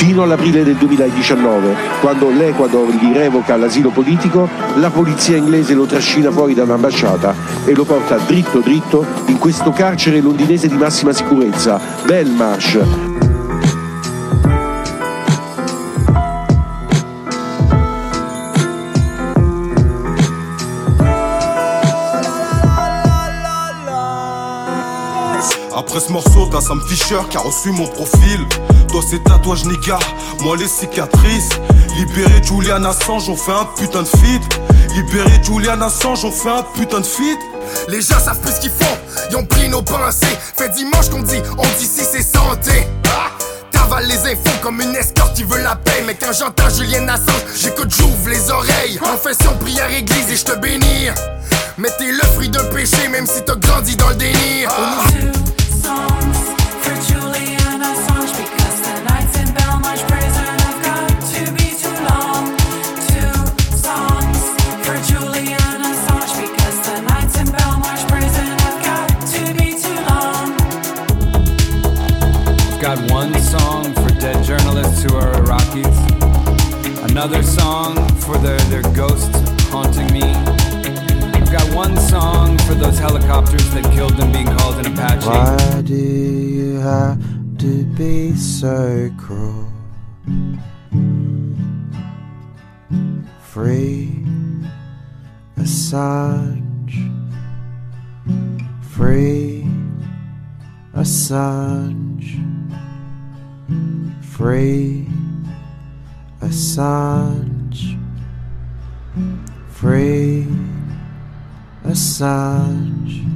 fino all'aprile del 2019, quando l'Ecuador gli revoca l'asilo politico, la polizia inglese lo trascina fuori dall'ambasciata e lo porta dritto dritto in questo carcere londinese di massima sicurezza, Belmarsh. Après ce morceau, t'as Sam Fisher qui a reçu mon profil. Toi ces tatouages nigga, moi les cicatrices. Libéré Julian Assange, on fait un putain de feat. Libéré Julian Assange, on fait un putain de feat. Les gens savent plus ce qu'ils font, ils ont pris nos pensées. Fait dimanche qu'on dit, on dit si c'est santé. T'avales les infos comme une escorte qui veut la paix. Mais quand j'entends Julian Assange, j'écoute, j'ouvre les oreilles. Confession, prière, église et je te bénis. Mais t'es le fruit d'un péché, même si t'as grandi dans le déni. Got one song for dead journalists who are Iraqis, another song for their ghosts haunting me. I've got one song for those helicopters that killed them being called an Apache. Why do you have to be so cruel? Free Assange, free Assange, free Assange, free Assange.